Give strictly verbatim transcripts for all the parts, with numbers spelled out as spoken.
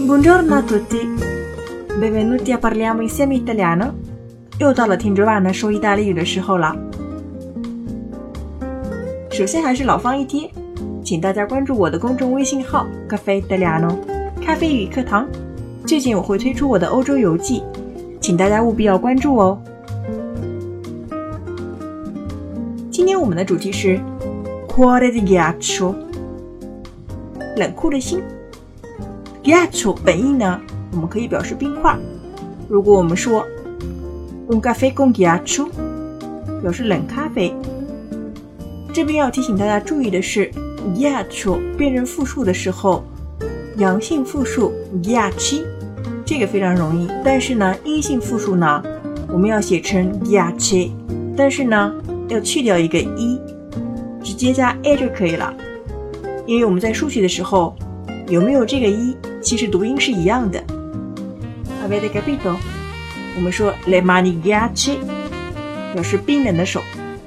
Buongiorno a tutti, benvenuti a Parliamo Insieme Italiano。又到了听着万能说意大利语的时候了。首先还是老方一贴，请大家关注我的公众微信号 Caffè Italiano 咖啡语课堂。最近我会推出我的欧洲游记，请大家务必要关注哦。今天我们的主题是 Cuore di ghiaccio， 冷酷的心。Ghiaccio 本意呢，我们可以表示冰块。如果我们说 Un caffè con ghiaccio， 表示冷咖啡。这边要提醒大家注意的是 ghiaccio 变成复数的时候，阳性复数 ghiacci， 这个非常容易，但是呢阴性复数呢我们要写成 ghiacci， 但是呢要去掉一个 e， 直接加 a 就可以了。因为我们在书写的时候有没有这个 e， 其实读音是一样的。 Avete capito？ 我们说 le mani ghiacci 表示冰冷的手。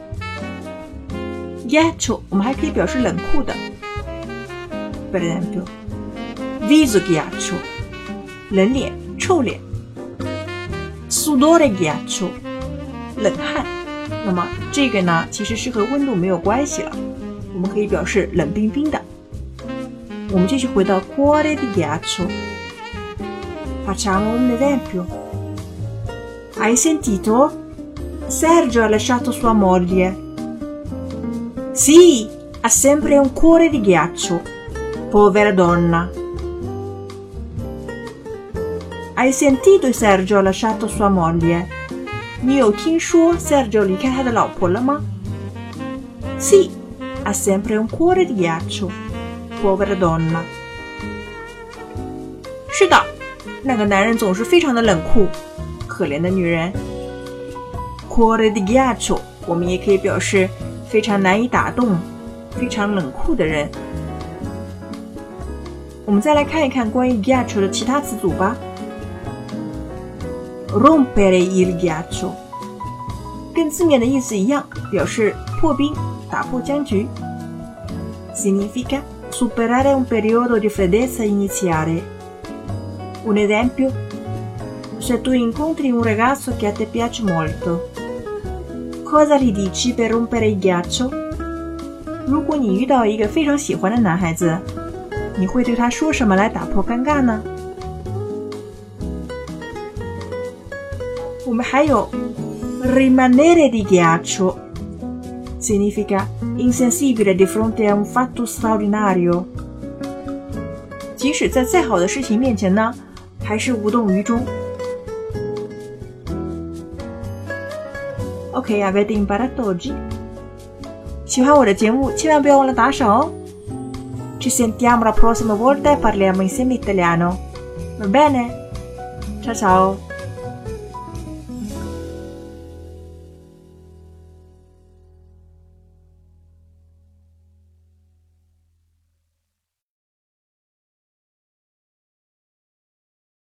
ghiaccio 我们还可以表示冷酷的， per esempio viso ghiaccio 冷脸臭脸， sudore ghiaccio 冷汗。那么这个呢其实是和温度没有关系了，我们可以表示冷冰冰的。我们继续回到 cuore di ghiaccio， facciamo un esempio. Hai sentito? Sergio ha lasciato sua moglie. Sì, ha sempre un cuore di ghiaccio. Povera donna. Hai sentito Sergio ha lasciato sua moglie? 你有听说 Sergio 离开他的老婆了吗？ Sì, ha sempre un cuore di ghiaccio. Povera donna. 是的，那个男人总是非常的冷酷，可怜的女人。 Cuore di ghiaccio 我们也可以表示非常难以打动，非常冷酷的人。我们再来看一看关于 ghiaccio 的其他词组吧。 Rompere il ghiaccio 跟字面的意思一样，表示破冰，打破僵局。 Significa superare un periodo di freddezza iniziale. Un esempio, se tu incontri un ragazzo che a te piace molto, cosa gli dici per rompere il ghiaccio? 如果你遇到一个非常喜欢的男孩子，你会对他说什么来打破尴尬呢？我们还有 rimanere di ghiaccio, significa insensibile di fronte a un fatto straordinario. 即使在再好的事情面前呢，还是无动于衷。Ok, avete imparato oggi? 喜欢我的节目，千万不要忘了打赏哦。Ci sentiamo la prossima volta e parliamo insieme italiano. Va bene? Ciao ciao!